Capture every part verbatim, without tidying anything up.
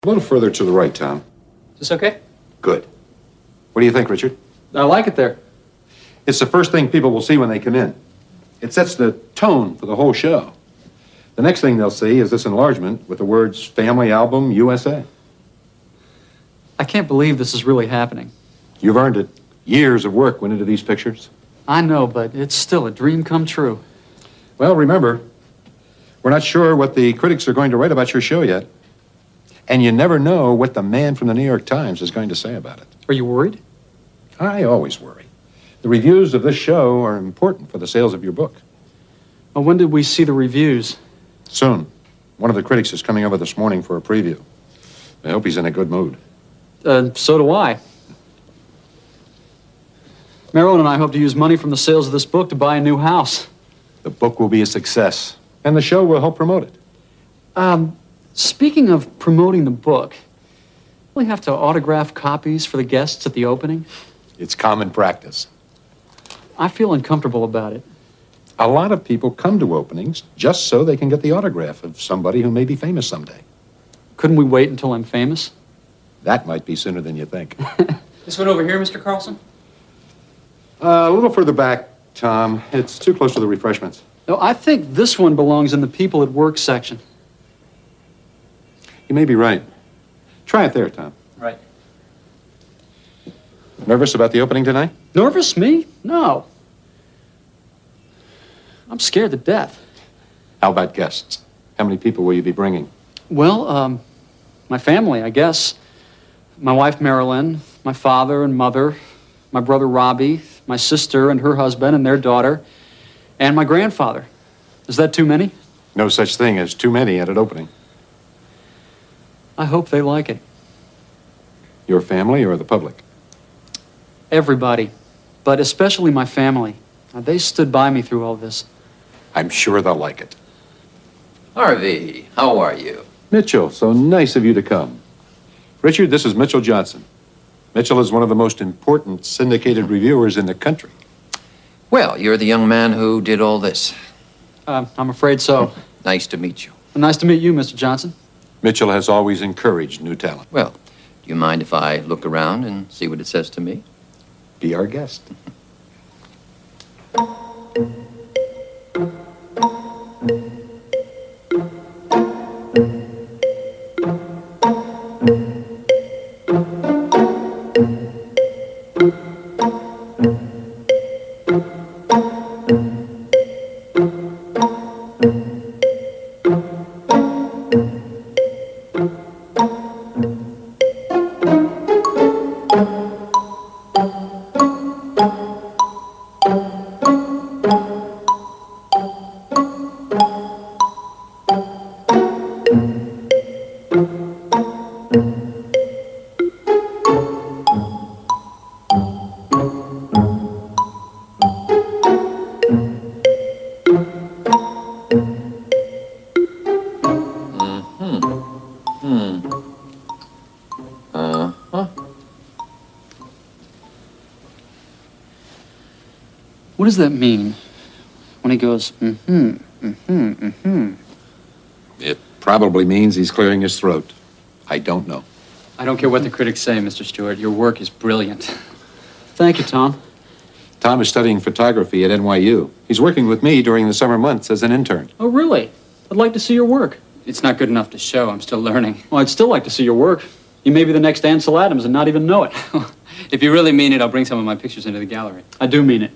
A little further to the right, Tom. Is this okay? Good. What do you think, Richard? I like it there. It's the first thing people will see when they come in. It sets the tone for the whole show. The next thing they'll see is this enlargement with the words Family Album U S A. I can't believe this is really happening. You've earned it. Years of work went into these pictures. I know, but it's still a dream come true. Well, remember, we're not sure what the critics are going to write about your show yet. And you never know what the man from the New York Times is going to say about it. Are you worried? I always worry. The reviews of this show are important for the sales of your book. Well, when did we see the reviews? Soon. One of the critics is coming over this morning for a preview. I hope he's in a good mood. Uh, so do I. Marilyn and I hope to use money from the sales of this book to buy a new house. The book will be a success, and the show will help promote it. Um, speaking of promoting the book, will we have to autograph copies for the guests at the opening? It's common practice. I feel uncomfortable about it. A lot of people come to openings just so they can get the autograph of somebody who may be famous someday. Couldn't we wait until I'm famous? That might be sooner than you think. This one over here, Mister Carlson? Uh, a little further back, Tom. It's too close to the refreshments. No, I think this one belongs in the people at work section. You may be right. Try it there, Tom. Right. Nervous about the opening tonight? Nervous? Me? No. I'm scared to death. How about guests? How many people will you be bringing? Well, um, my family, I guess. My wife, Marilyn, my father and mother, my brother, Robbie, my sister and her husband and their daughter, and my grandfather. Is that too many? No such thing as too many at an opening. I hope they like it. Your family or the public? Everybody, but especially my family. Now, they stood by me through all this. I'm sure they'll like it. Harvey, how are you? Mitchell, so nice of you to come. Richard, this is Mitchell Johnson. Mitchell is one of the most important syndicated reviewers in the country. Well, you're the young man who did all this. Uh, I'm afraid so. Nice to meet you. Nice to meet you, Mister Johnson. Mitchell has always encouraged new talent. Well, do you mind if I look around and see what it says to me? Be our guest. What does that mean when he goes, mm-hmm, mm-hmm, mm-hmm? It probably means he's clearing his throat. I don't know. I don't care what the critics say, Mister Stewart. Your work is brilliant. Thank you, Tom. Tom is studying photography at N Y U. He's working with me during the summer months as an intern. Oh, really? I'd like to see your work. It's not good enough to show. I'm still learning. Well, I'd still like to see your work. You may be the next Ansel Adams and not even know it. If you really mean it, I'll bring some of my pictures into the gallery. I do mean it.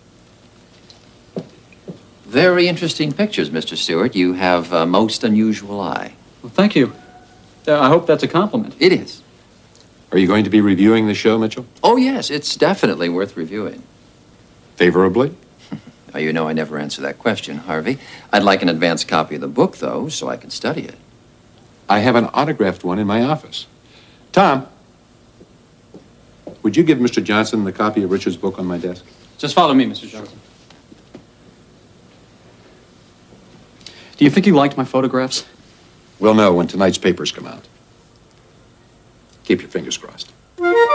Very interesting pictures, Mister Stewart. You have a most unusual eye. Well, thank you. Uh, I hope that's a compliment. It is. Are you going to be reviewing the show, Mitchell? Oh, yes, it's definitely worth reviewing. Favorably? Now, you know I never answer that question, Harvey. I'd like an advance copy of the book, though, so I can study it. I have an autographed one in my office. Tom, would you give Mister Johnson the copy of Richard's book on my desk? Just follow me, Mister Johnson. Do you think he liked my photographs? We'll know when tonight's papers come out. Keep your fingers crossed.